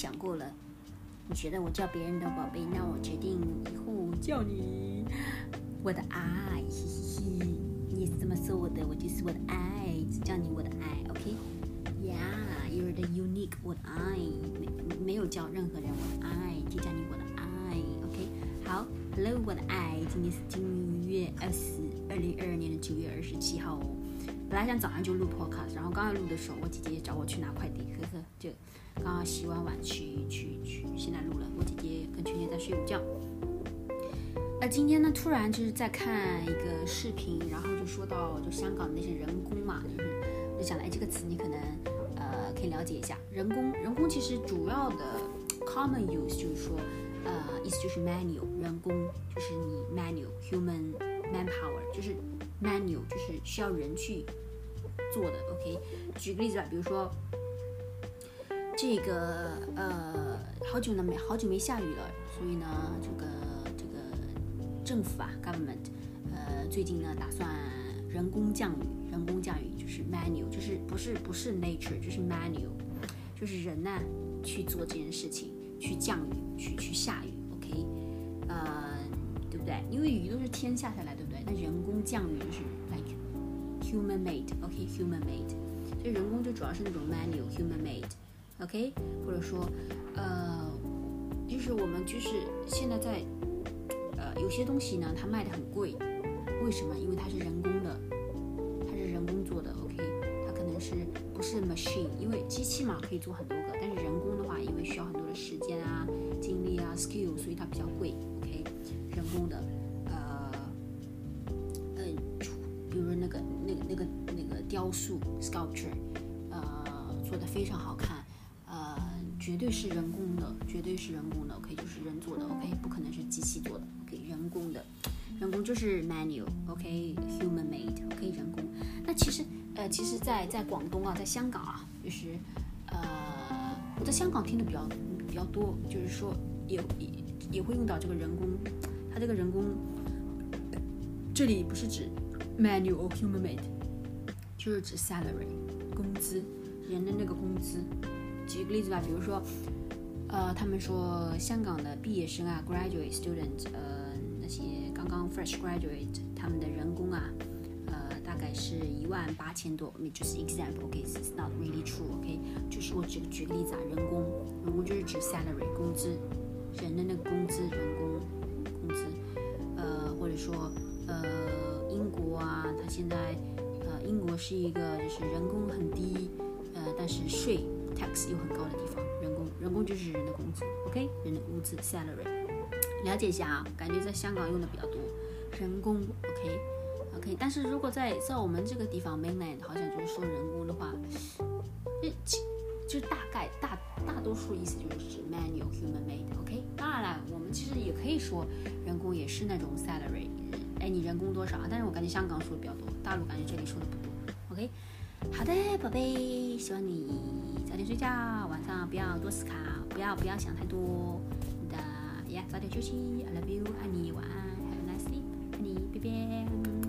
想过了，你觉得我叫别人的宝贝，那我决定以后叫你我的爱，嘻嘻嘻，你也是这么说我的，我就是我的爱，只叫你我的爱 ，OK？Yeah, you're the unique 我的爱，没有叫任何人我的爱，就叫你我的爱 ，OK？ 好 ，Hello 我的爱，今天是2022年的9月27号哦。本来想早上就录 podcast， 然后刚刚录的时候，我姐姐找我去拿快递，呵呵，就刚刚洗完碗去，现在录了。我姐姐跟圈圈在睡午觉。今天呢，突然就是在看一个视频，然后就说到就香港的那些人工嘛，我就想了，这个词你可能可以了解一下。人工其实主要的 common use 就是说意思就是 manual， 人工就是你 manual human manpower， 就是 manual 就是需要人去做的 OK。 举个例子吧，比如说这个好久没下雨了，所以呢这个政府啊 government 最近呢打算人工降雨就是 manual， 就是不是 nature， 就是 manual， 就是人呢去做这件事情，去降雨去下雨 OK， 对不对？因为雨都是天下来对不对？那人工降雨就是 like human made OK human made， 所以人工就主要是那种 manual human made OK， 或者说就是我们就是现在在有些东西呢它卖的很贵，为什么？因为它是人工的，它是人工做的 OK， 它可能是不是 machine， 因为机器嘛可以做很多个，但是人工的话因为需要很多的时间啊精力啊 skill， 所以它比较贵 OK， 人工的比如那个雕塑 sculpture 做的非常好看，绝对是人工的 OK， 就是人做的 OK， 不可能是机器做的 OK， 人工就是 manual OK human made OK 人工。那其实在广东啊，在香港啊，就是我在香港听的比较多，就是说也会用到这个人工。它这个人工这里不是指 manual human made， 就是指 salary 工资，人的那个工资。举个例子吧，比如说他们说香港的毕业生啊 graduate student， 那些刚刚 fresh graduate 他们的人工啊大概是18000多，就是 example OK it's not really true OK， 就是我举个例子啊，人工就是指 salary 工资，人的那个工资，人工工资或者说英国啊，它现在英国是一个就是人工很低但是税 tax 又很高的地方，人工就是人的工资 OK， 人的工资 salary， 了解一下啊，感觉在香港用的比较多，人工 OK， 但是如果在我们这个地方 mainland 好像就是说人工的话，就大多数意思就是指 manual human made OK。 当然了，我们其实也可以说人工也是那种 salary， 你人工多少啊？但是我感觉香港说的比较多，大陆感觉这里说的不多 OK。 好的宝贝，希望你早点睡觉，晚上不要多思考，不要想太多的呀，早点休息 I love you， 爱你，晚安 Have a nice sleep， 爱你，拜拜。